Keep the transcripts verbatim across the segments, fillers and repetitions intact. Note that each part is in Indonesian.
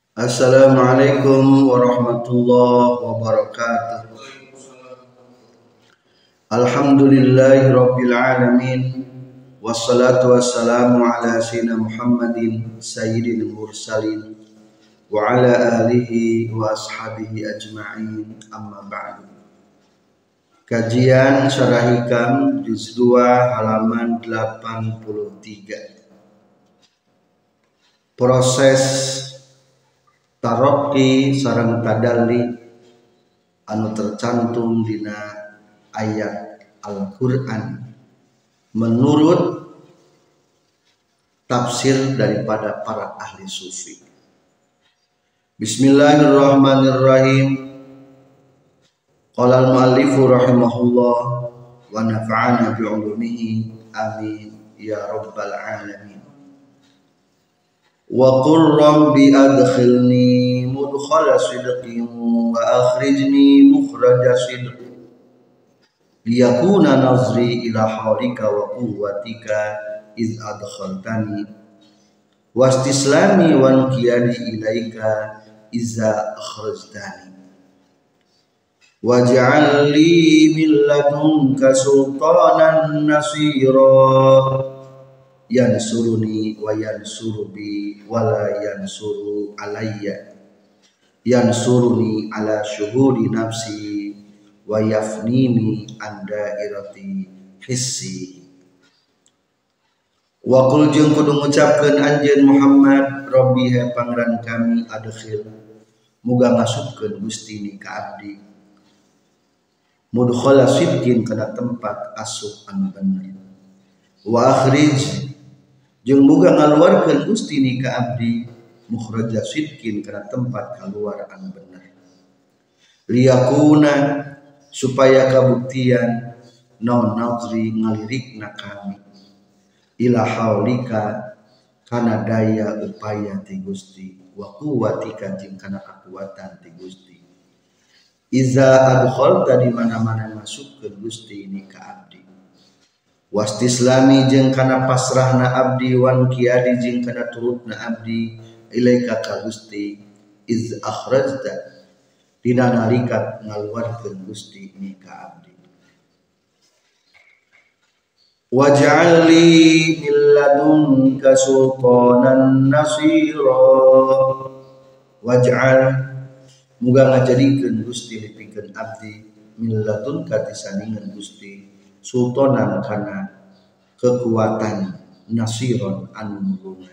Assalamualaikum warahmatullahi wabarakatuh. Alhamdulillahi rabbil alamin. Wassalatu wassalamu ala sayyidina Muhammadin sayyidil mursalin wa ala alihi wa ashabihi ajma'in, amma ba'du. Kajian Syarah Hikam juz dua halaman delapan puluh tiga. Proses taroki sareng tadalli anu tercantum dina ayat Al-Qur'an menurut tafsir daripada para ahli sufi. Bismillahirrahmanirrahim. Qala al-muallifu rahimahullah wa nafa'ana bi 'ulumihi amin ya rabbal alamin. Wa qur rabbi adkhilni mudkhala sidqin wa akhrijni mukhraja sidqin liyakuna nazri ila hawlika wa quwwatika iz adkhaltani wastislami wa nqiyadi ilaika iza akhrajtani waj'al li min ladunka sultanan nasira yansuruni wa yansuru bi wala yansuru alayya yansuruni ala syuhuri nafsi wa yafnini an dairati hissi. Wa qul jeung kudu ngucapkeun anjeun Muhammad, Rabbi he pangeran kami, adkhil muga ngasupkeun Gusti ni ka abdi mudkhala sidqin kana tempat asup anu bener, wa akhrij jeung muga ngaluarkeun Gusti ni ka abdi mukhraja sidqin kana tempat kaluar anu bener, liyakuna supaya kabuktian naon nazri ngalirikna kami ila haulika kana daya upaya ti Gusti wa quwwatika jeung kana kakuatan ti Gusti iza adkhalta di mana-mana masukkeun Gusti ni ka abdi wastislami jeung kana pasrahna abdi wan qiyadi jeung kana turutna abdi ilaika ka Gusti iz akhrajta dina nalika ngaluarkeun Gusti ni ka abdi. Waj'al li min ladunka sultanan nasira waj'al muga ngajadikeun Gusti lipikeun abdi min ladunka tisandingan Gusti sultanan kana kekuatan nasiron anu nulungan.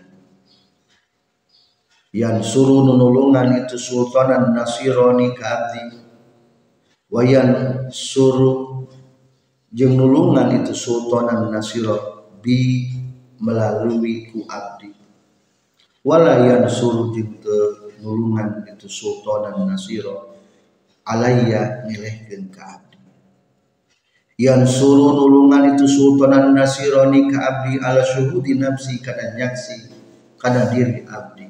Yan suruh nulungan itu sultanan nasironi ka abdi wayan suruh jeung nulungan itu sultanan nasiro bi melalui ku abdi wala yan suruh jeung nulungan itu sultanan nasiro alayya milehkeun ka abdi. Yan suruh nulungan itu sultanan nasironi ka abdi ala syuhudi nafsi kana nyaksi kana diri abdi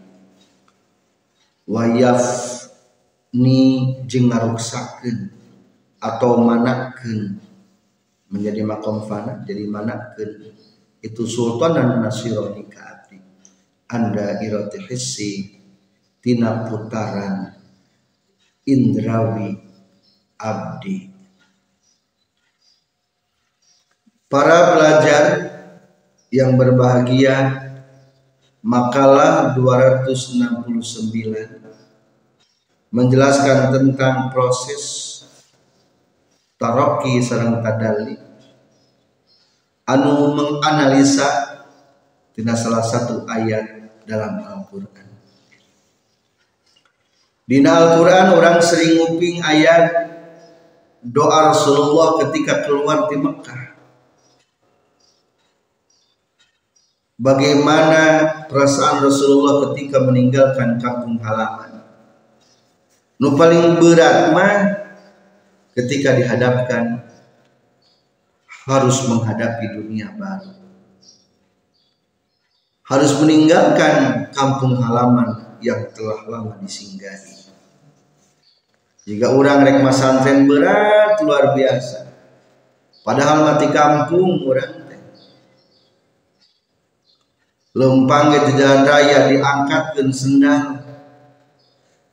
wayaf ni jeung ngaruksakeun atau manakeun menjadi makom fana jadi manakeun itu sultanan nasironi ka abdi anda irati hissi tina putaran indrawi abdi. Para pelajar yang berbahagia, makalah dua ratus enam puluh sembilan menjelaskan tentang proses taroki sareng tadalli anu menganalisa tina salah satu ayat dalam Al-Qur'an. Dina Al-Qur'an orang sering nguping ayat doa Rasulullah ketika keluar di Mekah. Bagaimana perasaan Rasulullah ketika meninggalkan kampung halaman. Nu paling berat mah ketika dihadapkan harus menghadapi dunia baru, harus meninggalkan kampung halaman yang telah lama disinggahi. Jika orang rek masantren berat luar biasa, padahal mati kampung orang lempang di jalan raya diangkatkeun sendal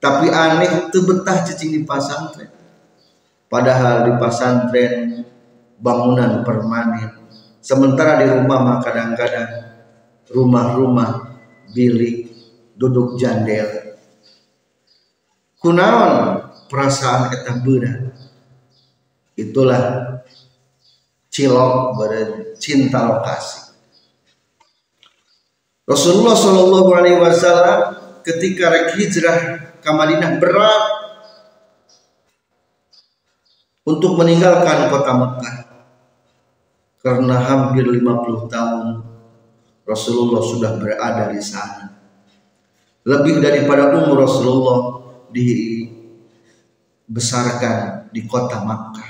Tapi aneh teu betah cicing di pasantren. Padahal di pasantren bangunan permanen. Sementara di rumah mah kadang-kadang rumah-rumah bilik duduk jandel. Kunaon perasaan eta beurang? Itulah cilok beureun cinta lokasi. Rasulullah Shallallahu Alaihi Wasallam ketika rek hijrah ke Madinah berat untuk meninggalkan kota Mekah karena hampir lima puluh tahun Rasulullah sudah berada di sana. Lebih daripada umur Rasulullah dibesarkan di kota Makkah.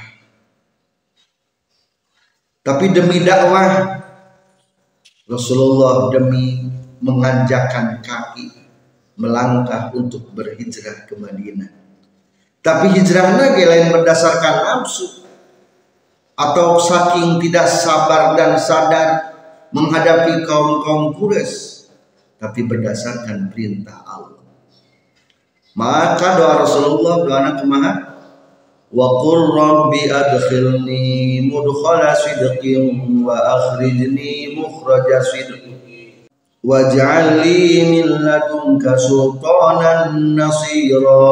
Tapi demi dakwah Rasulullah demi menganjakkan kaki melangkah untuk berhijrah ke Madinah. Tapi hijrahnya lain berdasarkan nafsu atau saking tidak sabar dan sadar menghadapi kaum-kaum Quraisy, tapi berdasarkan perintah Allah. Maka doa Rasulullah doanya kumaha? Wa qur rabbi adkhilni mudkhala sidqin wa akhrijni mukhraja sidqin waj'al li min ladunka sultanan nasira.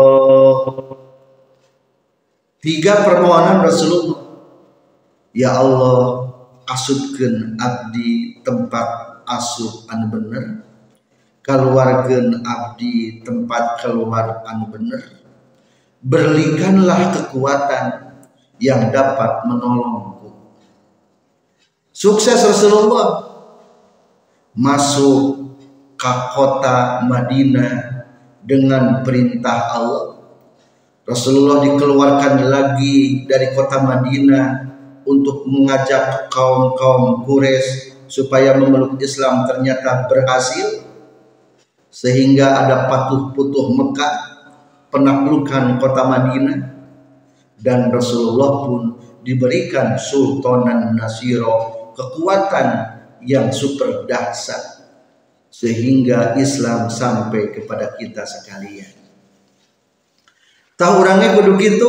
Tiga permohonan Rasulullah. Ya Allah, asupkeun abdi tempat asup anu bener, kaluarkeun abdi tempat keluar anu bener, berlikanlah kekuatan yang dapat menolongku. Sukses Rasulullah masuk ke kota Madinah dengan perintah Allah. Rasulullah dikeluarkan lagi dari kota Madinah untuk mengajak kaum-kaum Quraisy supaya memeluk Islam, ternyata berhasil, sehingga ada patuh-putuh Mekah, penaklukan kota Madinah, dan Rasulullah pun diberikan sultanan nasiro, kekuatan yang super dahsyat, sehingga Islam sampai kepada kita sekalian. Tahu orangnya kudu gitu,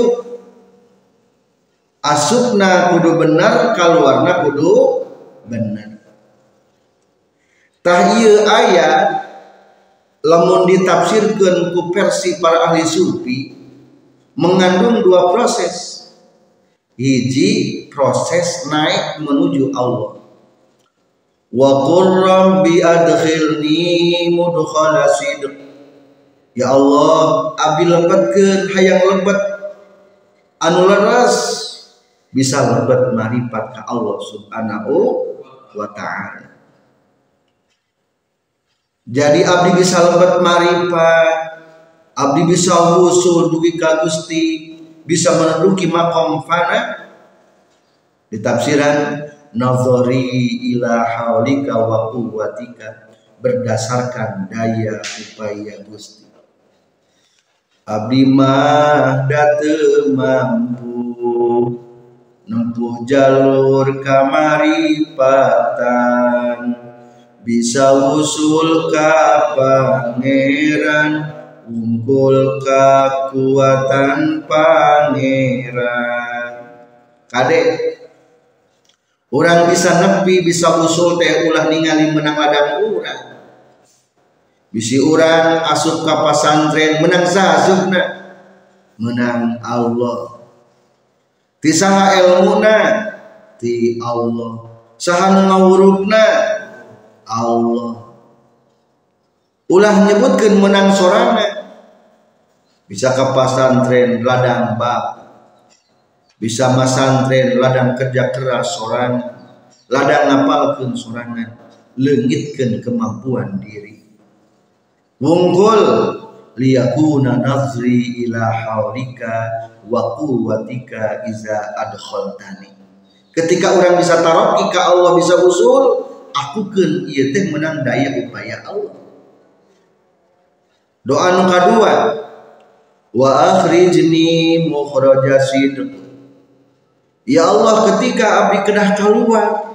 asupna kudu benar, kaluarna kudu benar. Tah ieu ayat lamun ditafsirkeun ku versi para ahli sufi mengandung dua proses. Hiji proses naik menuju Allah. Wa qur rabbi adkhilni mudkhala sidq. Ya Allah, abdi lebetkeun hayang lebet anu leres bisa lebet marifat ka Allah Subhanahu wa taala. Jadi abdi bisa lebet marifat, abdi bisa wusul dugi ka Gusti, bisa menduduki maqam fana. Di tafsiran nazari ila haulika wa quwwatika, berdasarkan daya upaya Gusti. Abdi mah da teu mampu nempuh jalur kamaripatan, bisa usul ka pangeran, unggul kekuatan pangeran. Kadek orang bisa nepi, bisa usul teh ulah ningali menang ladang urang. Bisi urang asup ka pasantren menang sahasupna, menang Allah. Ti saha ilmuna? Ti Allah. Saha nu ngawurupna? Allah. Ulah nyebutkeun menang sorana. Bisa ka pasantren ladang bab, bisa masantren ladang kerja keras sorangan, ladang ngapalkeun sorangan, leungitkeun kemampuan diri. Wungkul liyakuna nazri ila haulika wa quwwatika iza adkhaltani. Ketika orang bisa taroki ka Allah, bisa usul, akukeun ieu teh menang daya upaya Allah. Doa nu kadua, wa akhrijni mukhraja sidq. Ya Allah, ketika abdi kedah keluar,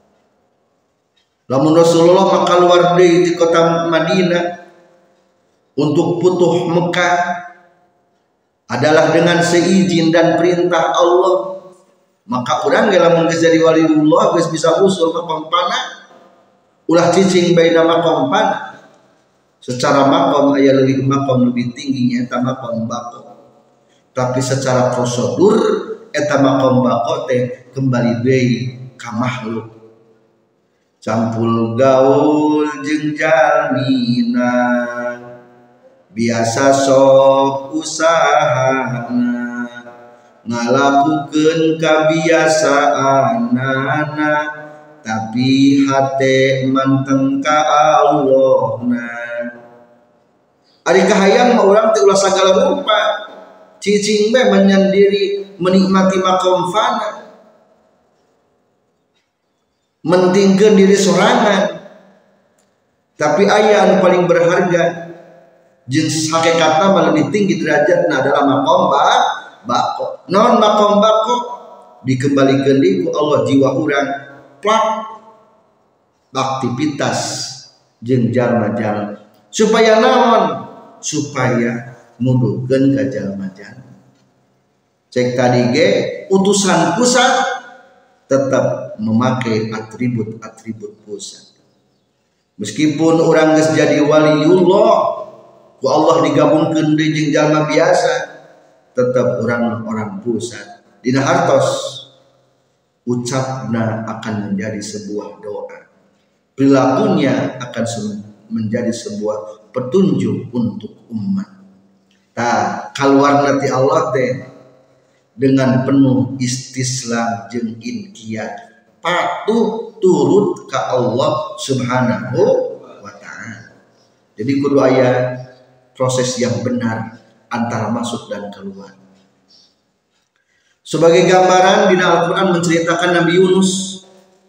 lamun Rasulullah mah keluar deui di kota Madinah untuk putuh Mekah adalah dengan seizin dan perintah Allah. Maka orang lamun geus jadi waliullah geus bisa usul makom pana ulah cicing baina makom pana. Secara makom aya lebih makom lebih tingginya eta makom bako. Tapi secara prosedur eta makom bako teh kembali deui ka makhluk. Campul gaul jeung jalmina biasa sok usahana ngalakukeun kabiasaanana tapi hate manteng ka Allahna. Ari kahayang mah urang teh ulah sagala rupa cicing mah menyendiri menikmati makom fana mentingkeun diri sorangan. Tapi aya anu paling berharga jeung hakikatna mah lebih tinggi derajatna adalah makom bako. Non makom bako dikembalikan deui ku Allah jiwa urang plak aktivitas jeung jalma-jalma supaya naon supaya nuduhkeun ka jalma-jalma. Cek tadi ge utusan pusat tetap memakai atribut-atribut pusat. Meskipun orang geus jadi waliullah ku Allah digabungkeun deui jeung jalma biasa tetap orang orang pusat. Dina hartos ucapna akan menjadi sebuah doa, perilakunya akan menjadi sebuah petunjuk untuk umat. Tah kaluarna ti Allah teh dengan penuh istislam jeung inqiyad patuh turut ka Allah Subhanahu wa taala. Jadi kudu aya proses yang benar antara masuk dan keluar. Sebagai gambaran dina Al-Qur'an menceritakan Nabi Yunus.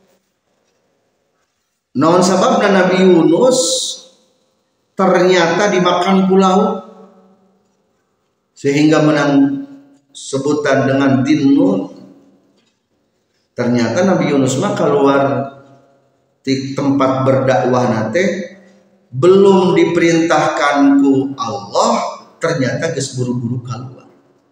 Naon sababna Nabi Yunus ternyata dimakan ku laut sehingga menang sebutan dengan Dinnun. Ternyata Nabi Yunus mah keluar di tempat berdakwah nate belum diperintahkan ku Allah, ternyata geus buru-buru keluar.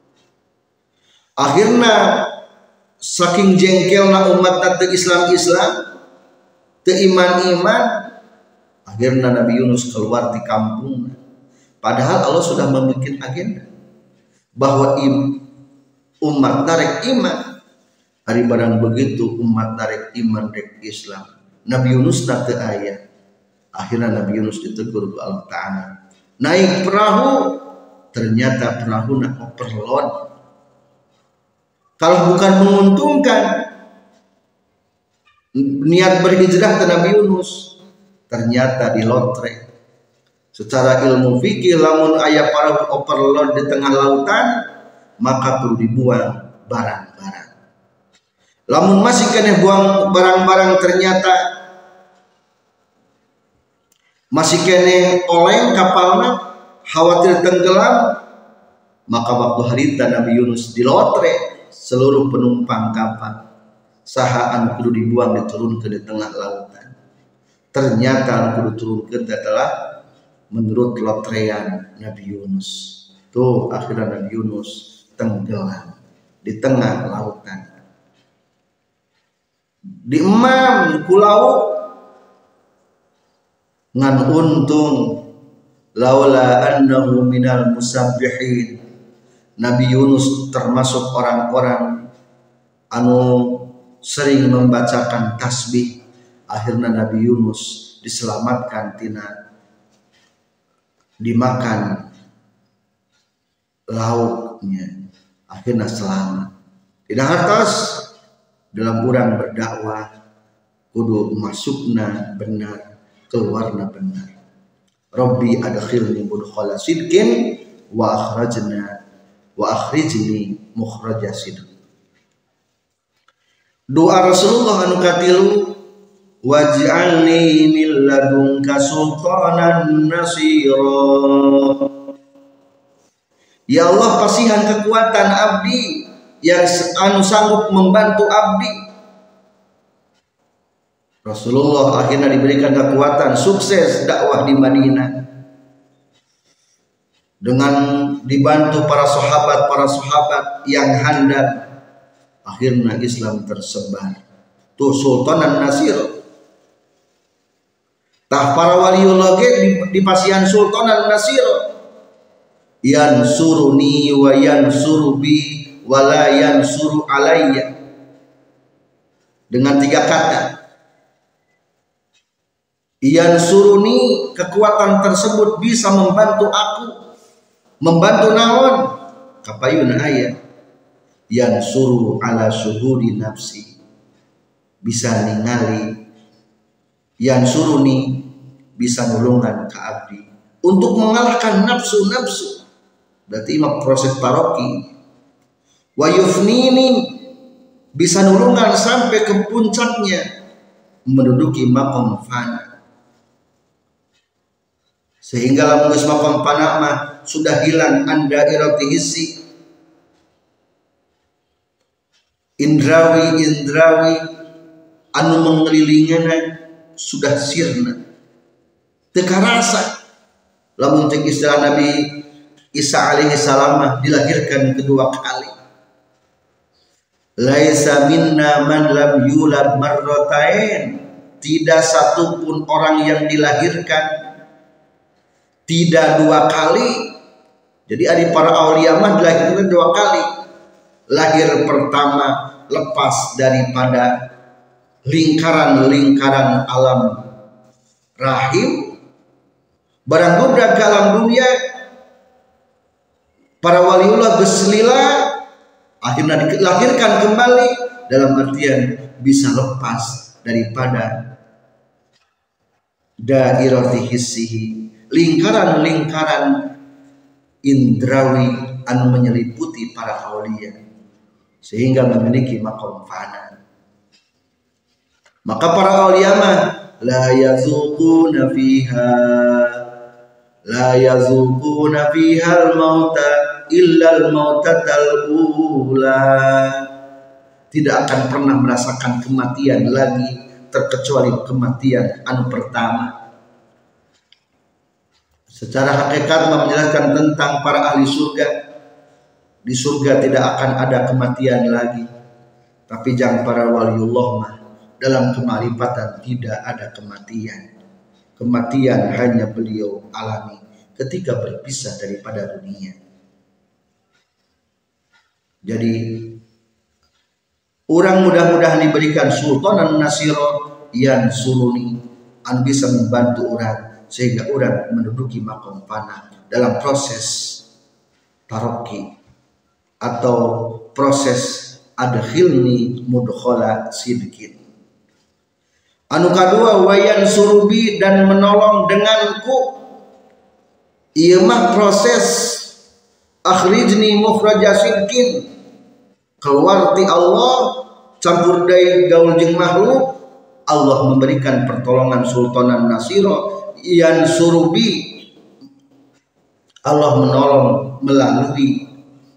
Akhirna saking jengkelna umat teu Islam-Islam, teu iman-iman, akhirna Nabi Yunus keluar di kampung. Padahal Allah sudah membuat agenda bahwa im, umat narek iman. Hari barang begitu umat narek iman rek Islam, Nabi Yunus teu aya. Akhirnya Nabi Yunus ditegur ku Allah Ta'ala. Naik perahu, ternyata perahu nak overload. Kalau bukan menguntungkan niat berhijrah ke Nabi Yunus, ternyata di lotre. Secara ilmu fikih lamun aya perahu overload di tengah lautan, maka perlu dibuang barang-barang. Lamun masih kena buang barang-barang ternyata masih kena oleng kapalnya khawatir tenggelam, maka waktu harita Nabi Yunus di lotre seluruh penumpang kapal saha anu kudu dibuang diturunkeun di tengah lautan. Ternyata anu kudu turunkeun adalah menurut lotrean Nabi Yunus. Tuh akhirnya Nabi Yunus tenggelam di tengah lautan. Di emam kulau ngan untung laula annahu minal musabbihin. Nabi Yunus termasuk orang-orang anu sering membacakan tasbih. Akhirnya Nabi Yunus diselamatkan tina dimakan lautnya, akhirnya selamat. Tidak hartos dalam urang berdakwah kudu masukna benar, keluarna benar. Rabbi adkhilni mudkhala sidqin wa akhrajna wa akhrijni mukhraja sidq. Doa Rasulullah anu katilu, waj'alni min ladunka sultanan nasira. Ya Allah, pasihan kekuatan abdi yang anu sanggup membantu abdi. Rasulullah akhirnya diberikan kekuatan sukses dakwah di Madinah. dengan dibantu para sahabat para sahabat yang handal, akhirnya Islam tersebar. Tuh Sultanan Nasir, tah para waliullah ge di, di pasian Sultanan Nasir, yansuruni wa yansuru bi wa la yansuru alayya, dengan tiga kata. Yansuruni, kekuatan tersebut bisa membantu aku. Membantu naon? Kapayuna aya yansuru ala syuhudi nafsi, bisa ningali. Yansuruni, bisa nulungan ka abdi untuk mengalahkan nafsu-nafsu. Berarti imam proses taroki. Wa yufnini, bisa nulungan sampai ke puncaknya, menduduki maqam fana. Sehingga lamun geus maqam fana mah sudah hilang anda irati hissi, indrawi indrawi anu mengelilingana sudah sirna, teu karasa. Lamun cek istilah Nabi Isa alaihi salam dilahirkan kedua kali. Laisa minna man lam yulad marratain, tidak satupun orang yang dilahirkan tidak dua kali. Jadi ada para aulia mah dilahirkan dua kali. Lahir pertama lepas daripada lingkaran-lingkaran alam rahim, barang budak ke alam dunia, para waliullah berselila, akhirnya dilahirkan kembali dalam artian bisa lepas daripada dairati hissihi, lingkaran-lingkaran indrawi anu menyeliputi para aulia, sehingga memiliki maqam fana. Maka para aulia mah la yazuquna fiha la yazuquna fiha al-mauta illa al-mautatal ula, tidak akan pernah merasakan kematian lagi terkecuali kematian anu pertama. Secara hakikat menjelaskan tentang para ahli surga. Di surga tidak akan ada kematian lagi. Tapi jangan para waliullah mah dalam kemarifatan tidak ada kematian. Kematian hanya beliau alami ketika berpisah daripada dunia. Jadi orang mudah-mudahan diberikan Sultanan Nasiro yang suruni, an bisa membantu orang sehingga orang menduduki maqam fana dalam proses taroki atau proses adkhilni mudkhala sidqin. Anu kadua wayan surubi, dan menolong denganku. Ieu mah proses akhrijni mukhraja sidqin, keluar ti Allah campur deui gaul jeung makhluk. Allah memberikan pertolongan Sultanan Nasiro yang surubi, Allah menolong melalui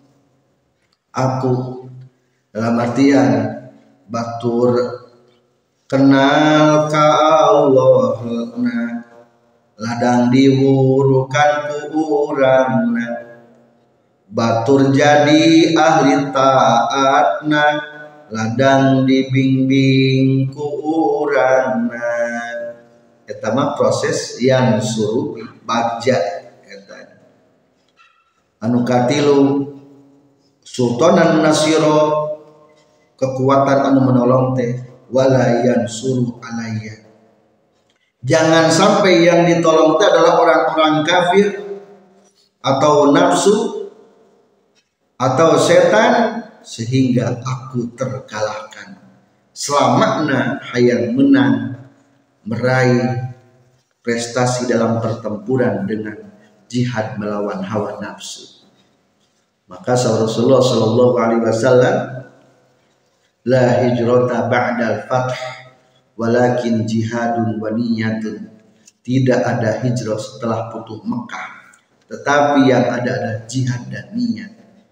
aku, dalam artian batur kenal ka Allah na ladang diwurukan ku urangna, batur jadi ahli taatna ladang dibimbing ku urangna. Eta mah proses yang suruh bagja eta. Anu katilu Sultanan Nasiro, kekuatan anu menolong teh wala yansuru alayya. Jangan sampai yang ditolong teh adalah orang-orang kafir atau nafsu atau setan sehingga aku terkalahkan. Selamatna hayang menang meraih prestasi dalam pertempuran dengan jihad melawan hawa nafsu. Maka Rasulullah Shallallahu Alaihi Wasallam, la hijrata ba'dal fath walakin jihadun wa niyatun, tidak ada hijrah setelah futuh Mekah, tetapi yang ada adalah jihad dan niat.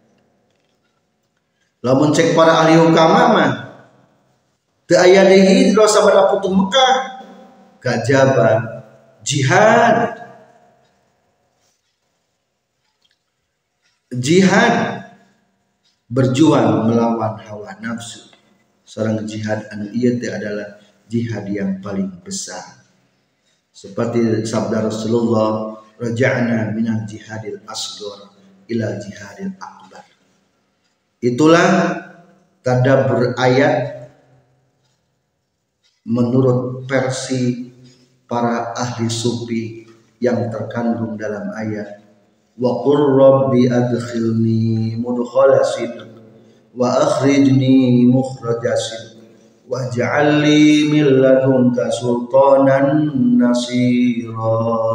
Lamun cek para ahli hukama mah teu aya deui hijrah sabada futuh Mekah, kajaba jihad. jihad berjuang melawan hawa nafsu. Seorang jihad anu ieu teh adalah jihad yang paling besar. Seperti sabda Rasulullah, raja'na minal jihadil asghar ila jihadil akbar. Itulah tadabbur ayat menurut versi para ahli sufi yang terkandung dalam ayat wa qur rabbi adkhilni mudkhala sidq wa akhrijni mukhraja sidq waj'al li min ladunka sultanan nasira.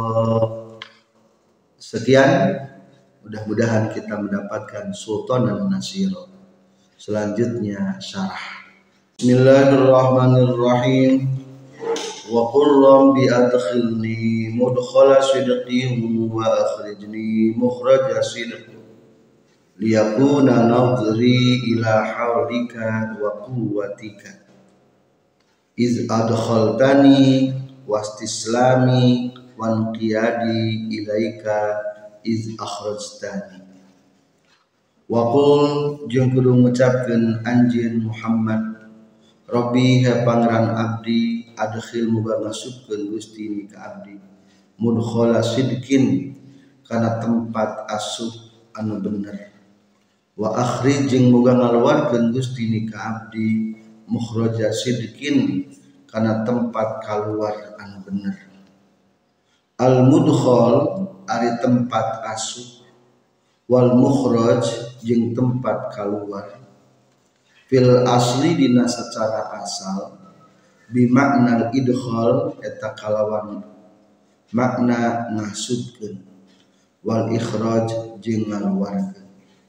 Sekian, mudah-mudahan kita mendapatkan sultanan nasira. Selanjutnya syarah. Bismillahirrahmanirrahim. Wa qur rabbi adkhilni mudkhala sidqin wa akhrijni mukhraja sidqin liyakuna nadhri ila haulika wa quwwatika iz adkhaltani wastislami wan qiyadi ilaika iz akhrajtani. Wa qul jeung kudu ngucapkeun anjeun Muhammad, Rabbi ha pangeran abdi adkhil muga ngasupkeun Gusti ni ka abdi mudkhala sidqin kana tempat asup anu bener, wa akhrij jeung muga ngaluarkeun Gusti ni ka abdi mukhraja sidqin kana tempat kaluar anu bener. Al mudkhal ari tempat asup, wal mukhraj jeung tempat kaluar fil asli dina secara asal bi makna idkhal eta kalawan makna ngasupkeun, wal ikhraj jeung ngaluarkeun.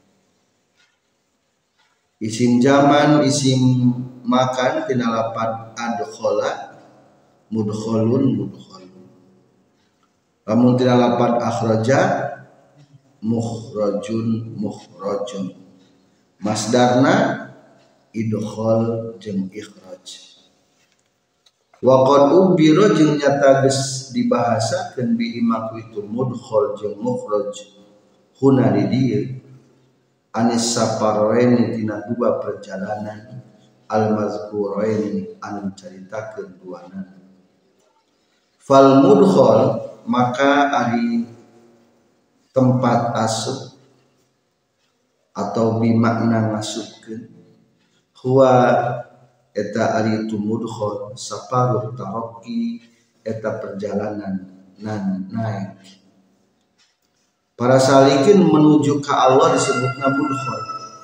Isim zaman isim makan tina lapan adkhala mudkhalun mudkhalun. Lamun tina lapan akhraja mukhrajun mukhrajun. Masdarna idkhal jeung ikhraj. Wa qad ubira jeung nyata geus dibahasakeun bihi maku itu mudkhal jeung mukhraj huna di dieu anis saparraini tina dua perjalanan al-mazkuraini anu caritakeun duana. Fal mudkhal maka ari tempat asup atau bimakna ngasupkeun, huwa eta ari tu mudkhal saparuh taraqi eta perjalanan nan naik. Para salikin menuju ke Allah disebutna mudkhal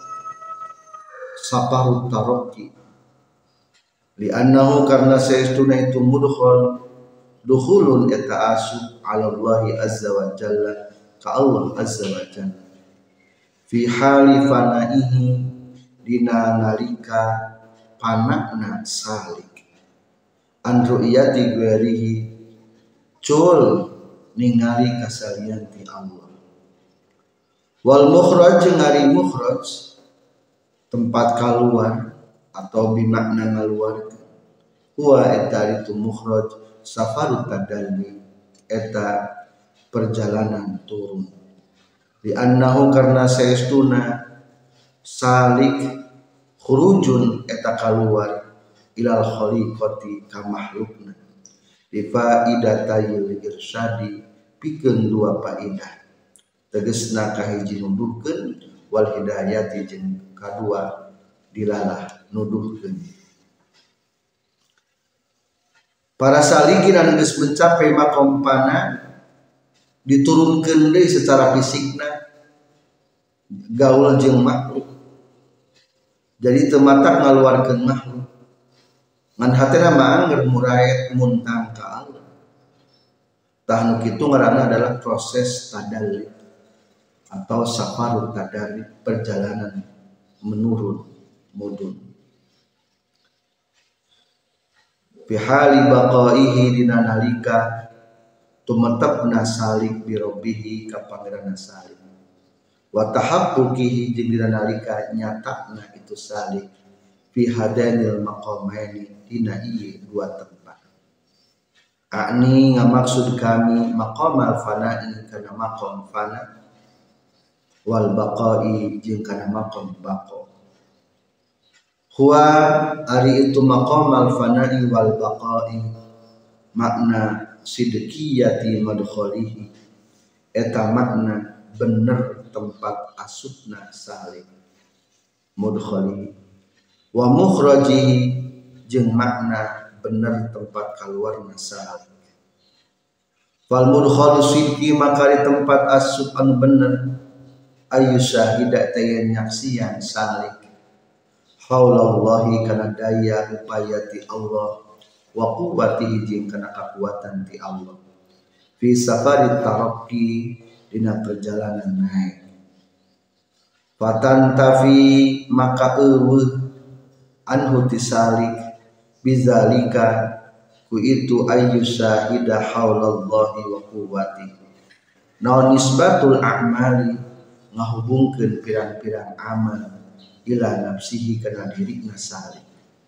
saparuh taraqi li'annahu karna saestuna itu mudkhal dukhulun eta asup ala Allah azza wa jalla ka Allah azza wa jalla fi hali fanaihi dina nalika panakna salik an ru'yati ghairihi cul ningali kasalian ti Allah. Wal mukhraj ngari mukhraj tempat keluar atau bimakna ngaluarkeun, huwa eta itu mukhraj safarut tadalli eta perjalanan turun. Di annahu karna saestuna salik khurujun eta kaluar ilal khaliqati ka makhlukna bi faidatayil irsyadi pikeun dua faidah tegesna kahiji nuduhkeun wal hidayati jeung kadua dilalah nuduhkeun. Para salikin anu geus mencapai makompana diturunkeun deui secara fisikna gaul jeung makhluk. Jadi teu matak ngaluarkeun makhluk. Ngan hatena mah angger muraid muntang ka Allah. Tah nu kitu ngaranna adalah proses tadalli atau safarut tadalli, perjalanan menurun mudun. Fi hali baqaihi dina nalika tumetepna salik bi rabbihi ka pangeranna salik. Wa tahaqquqihi jeung dina nalika nyatakna itu salik fi hadanil maqamaini dina ieu dua tempat. Akni ngamaksud kami maqamal fana'i kana maqam fana wal baqai jeung kana maqam baqa. Huwa ari itu maqam al fana'i wal baqai makna sidqiyati madkhalihi eta makna bener tempat asupna salik mudkhalihi wa mukhrajihi jeung makna bener tempat kaluarna salik. Fal mudkhalu sidqi maka di tempat asup anu bener ayu syahida tayan nyaksian salik haulallahi kana daya upaya ti Allah wa quwwatihi jeung kana kakuatan ti Allah fi safari taraqi dina perjalanan naik. Fatan tafi maka eueuh anhu tisalik bizalika ku itu ayu syahida haulallahi wa quwwatihi. Naon nisbatul a'mali ngahubungkeun pirang-pirang amal ila nafsihi kana dirina salik.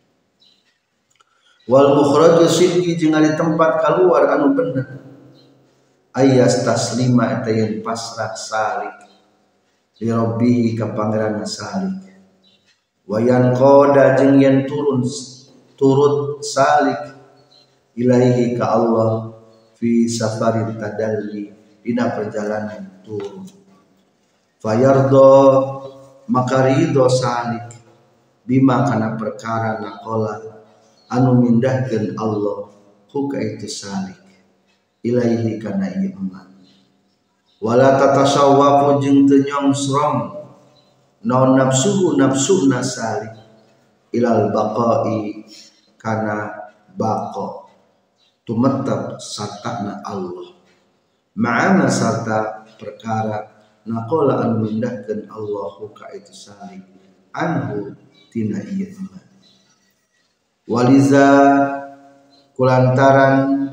Wal mukhraju sidqi jeung ari tempat kaluar anu bener ayas taslima eta yen pasrah salik li rabbih ka pangeranna salik. Wayan qada jeung yen turun turut salik ilaihi ka Allah fi safarit tadalli dina perjalanan turun. Fayardo maka ridho salik bima kana perkara naqala anu mindahkeun Allah hu ka itu salik ilaihi kana ieu eman. Wala tatasawwafu jeung teu nyongsrong naon nafsuhu nafsuna salik ilal baqai kana baqa tumettep sartana Allah ma'ana sarta perkara naqala anu mindahkeun Allahu ka itu salik anhu tina ieu eman. Waliza kulantaran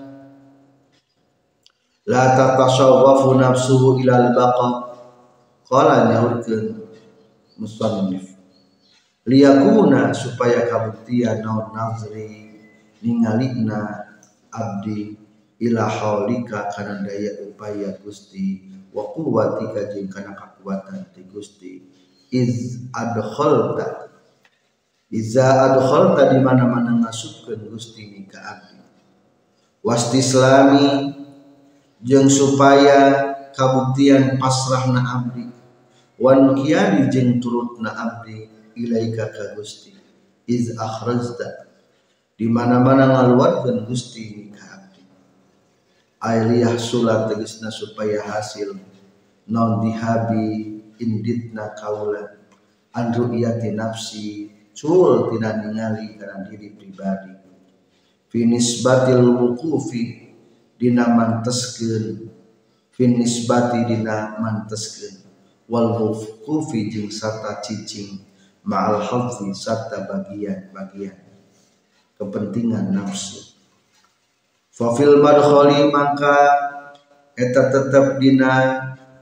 la tatasawwafu nafsuhu ilal baqa qala nyaurkeun musannif liyakuna supaya kabuktian naon nazri ningalina abdi ila haulika kana daya upaya Gusti wa quwwatika jeung kana kakuatan ti Gusti iz adkhalta iza adkhalta di mana-mana ngasupkeun Gusti ni ka abdi wastislami jeung supaya kabuktian pasrahna abdi wan qiyadi jeung turutna abdi ilaika ka Gusti iz akhrajta di mana-mana ngaluarkeun Gusti ni ka abdi ailiyah sulat tegasna supaya hasil non dihabi inditna kaula an ru'yati nafsi cul tina ningali kana diri pribadi fi nisbatil wuqufi dina manteskeun fi nisbati dina manteskeun wal wuqufi jeung sarta cicing ma'al hadzi sarta bagian-bagian kepentingan nafsu. Fa fil madkhali maka eta tetep dina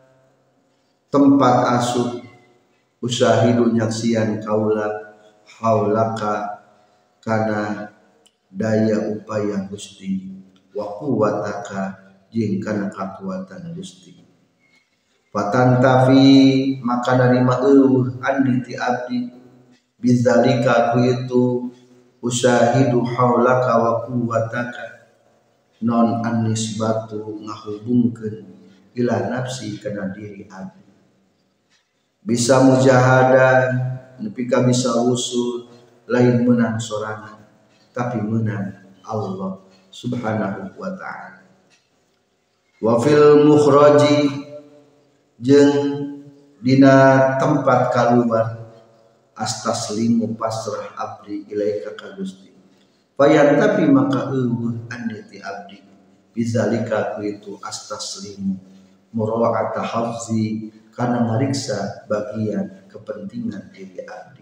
tempat asup usyahidu nyaksian kaula haulaka kana daya upaya Gusti wa quwwataka jeung kana kakuatan Gusti. Fatantafi maka narima eueuh anni ti abdi bizalika ku itu usyahidu haulaka wa quwwataka non annisbatu ngahubungkeun ila nafsi kana diri abdi bisa mujahadah nepi ka bisa usul lain menang sorangan tapi menang Allah subhanahu wa ta'ala. Wa fil mukhraji jeung dina tempat kaluar astaslimu pasrah abdi ilaika ka Gusti fayan tapi maka eueuh anti abdi bizalika ku itu astaslimu mura'ata hafzi kana mariksa bagian kepentingan diri abdi.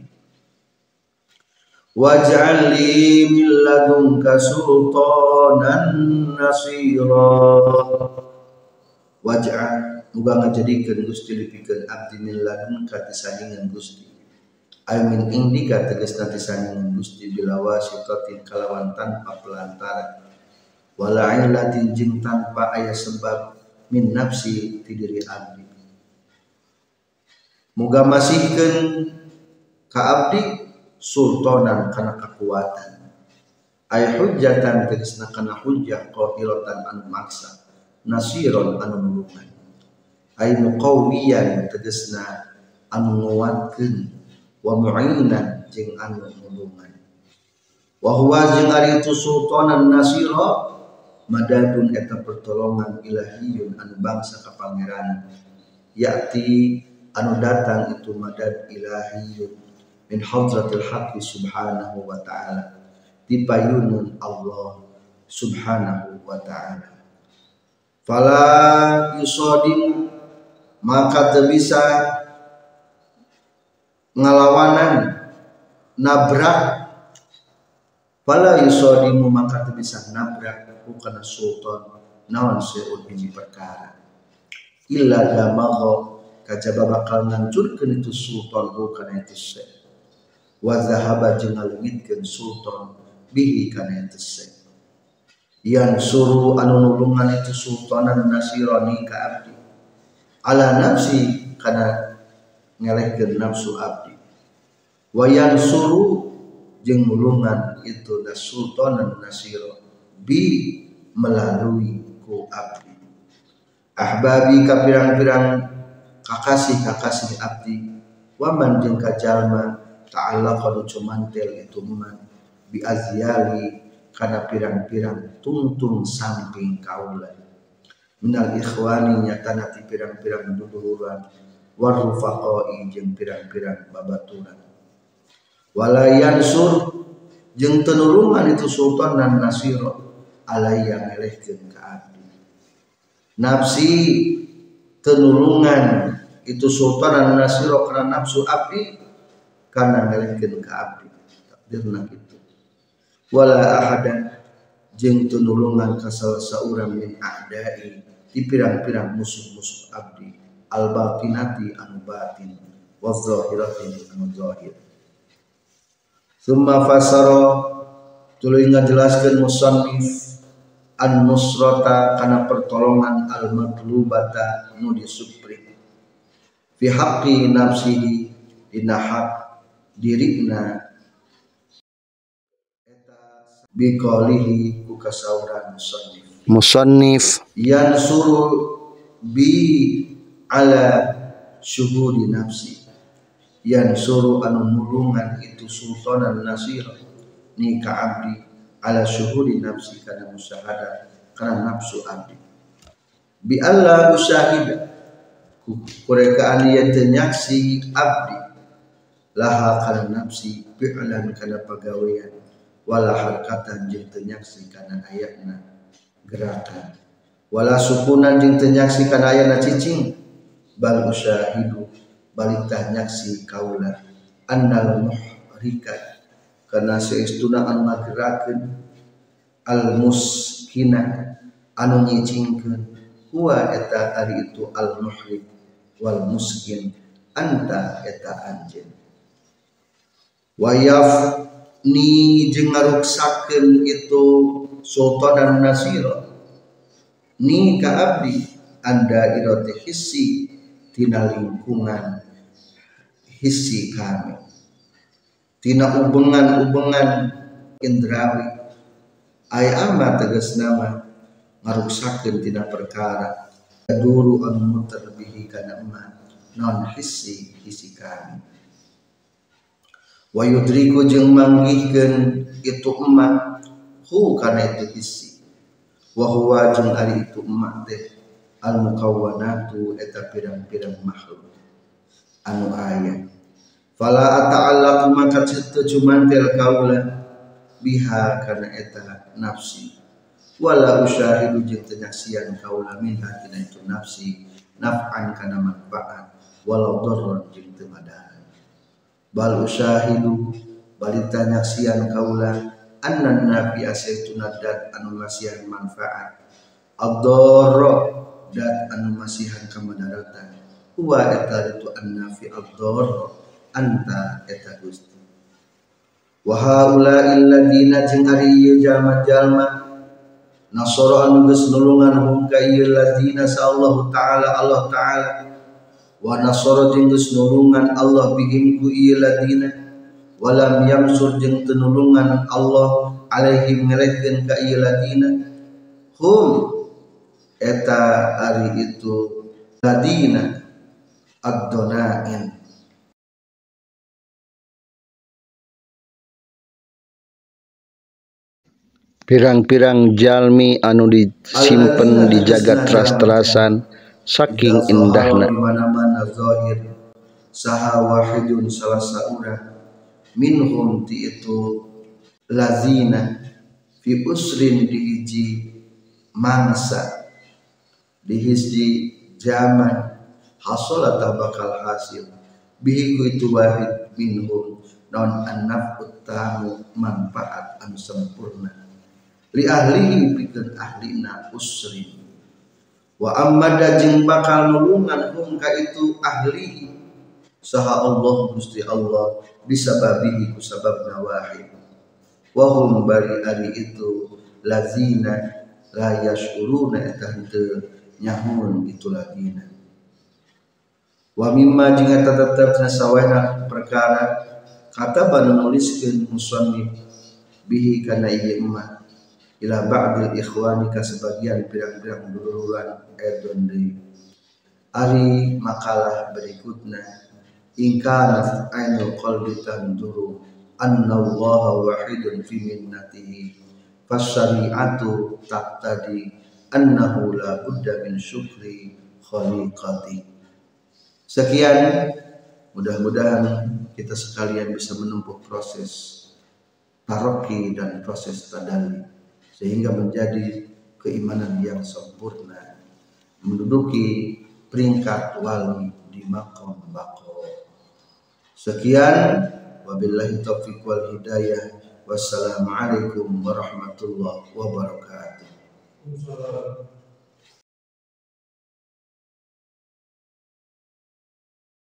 Waj'al li min ladunka sultanan nasira waj'al muga ngajadikeun Gusti lipikeun abdi min ladunka tisandingan Gusti ay min indika tegasna tisandingan Gusti bilawasitatin kalawan tanpa pelantara wala illatin jeung tanpa aya sebab min nafsi ti diri abdi muga masihkeun ka abdi sultanan kana kekuatan ay hujjatan tegasna kana hujjah qahiratan anu maksa nasiron anu nulungan ay muqawiyan tegasna anu nguatkeun wa mu'inan jeung anu nulungan wa huwa jeung ari itu sultanan nasira madadun eta pertolongan ilahiyun anu bangsa ka pangeran yakti anu datang itu madad ilahiyun min hadratil haqqi subhanahu wa ta'ala dipayunun Allah subhanahu wa ta'ala fala yusadim maka teu bisa ngalawanan nabrak fala yusadimu maka teu bisa nabrak kana sultan naon seud hiji perkara illa damagha kajaba bakal ngancurkeun itu sultan kana itu se wa zahaba jeung ngaleungitkeun sultan bihi kana itu se yang suruh anu nulungan itu sultanan nasirani ka abdi ala nafsi kana ngelehkeun nafsu abdi wa yang suruh jeung nulungan itu da sultanan nasira bi melalui ku abdi ahbabi ka pirang-pirang kakasih-kakasih abdi waman jeung ka jalma ta'allaqa cumantel itu man bi azyali kana pirang-pirang tungtung samping kaula minal ikhwani nyatana ti pirang-pirang duduluran warufaqai jeung pirang-pirang babaturan wala yansur jeung teu nulungan itu sultan dan nasira alaya ngelehkeun ka abdi nafsi tenulungan itu sultan dan nasiro karena nafsu abdi karena ngelehkeun ka abdi takdirna kitu wala ahadan jeung tenulungan ka saurang min a'dai di pirang-pirang musuh-musuh abdi al batinati anu batin wa zahirati anu zahir summa fasara tuluy ngajelaskeun musannif an nusrata kana pertolongan al matlubata nu disupri fi haqqi nafsihi dina hak dirina eta biqalihi ku kasauran musannif musannif yansuru bi ala syuhudi nafsi yansuru anu nulungan itu sultanan nasir ni ka abdi ala syuhudi nafsi kana musyahadah kana nafsu abdi bi alla usyahida kurekaan ieu teu nyaksi abdi laha kana nafsi fi'lan kana pagawean wala harkatan jeung teu nyaksi kana ayatna gerakan wala sukunan jeung teu nyaksi kana ayatna cicing bal usyahidu balik tah nyaksi kaula annal muhrikat karena seistuna anu ngagerakeun al muskina anu nyicingkeun huwa eta ari itu al muhrik wal muskin anta eta anjeun wayaf ni jeung ngaruksakeun itu sultan dan nasira ni ka abdi anda irote hissi tina lingkungan hissi kami tina ubengan-ubengan indrawi ay ama tegasna mah ngaruksakeun tina perkara duru anu muter bihi kana eman non hissi hissi kami wa yudriku jeung manggihkeun itu emak hu kana itu hissi wa huwa jeung ari itu emak teh al mukawwanatu eta pirang-pirang makhluk anu aya fala ata'allaqu maka teu cumantel kaula biha kana eta nafsi wala usyahidu jeung teu nyaksian kaula minha tina itu nafsi naf'an kana manfaat walau darran jeung teu madaran bal usyahidu balita nyaksian kaula annan nafi asaituna dat anu masihan manfaat ad-darra dat anu masihan kamadaratan huwa eta itu an-nafi ad-darra anta eta Gusti wa haula illadina jeung ari ieu jalma-jalma nasara anu geus nulungan hum ka ieu ladina sallallahu taala Allah taala wa nasara jeung geus nulungan Allah bihim ku ieu ladina walam yamsur jeung teu nulungan Allah alaihim ngelehkeun ka ieu ladina hum eta ari itu ladina ad-donain pirang-pirang jalmi anu disimpen dijaga teras-terasan saking indahna di mana-mana zahir saha wahidun salah saurang minhum ti itu lazina fi usrin di hiji mangsa di hiji zaman hasolata bakal hasil bihi ku itu wahid minhum non an-naf'ut tamu manfaat anu sempurna li ahlihi pikeun ahlina usrin wa ammada jeung bakal nulungan hum ka itu ahlihi saha Allah Gusti Allah bisababihi ku sababna wahid wa hum bari ari itu lazina la yashuruna eta henteu nyahun itu ladina wa mimma jeung eta tetep sawana perkara kata banu nuliskeun musannif bihi kana ieu mah ila ba'dil ikhwani ka sebagian pirang-pirang duluran edon deui ari makalah berikutna ingkana ainul qalbi tanduru anna allaha wahidun fi minnatihi fasyari'atu taqtadi annahu la budda min syukri khaliqati. Sekian, mudah-mudahan kita sekalian bisa menempuh proses taroki dan proses tadalli sehingga menjadi keimanan yang sempurna, menduduki peringkat wali di maqam baqo. Sekian, wabillahi taufiq wal hidayah. Wassalamualaikum warahmatullahi wabarakatuh.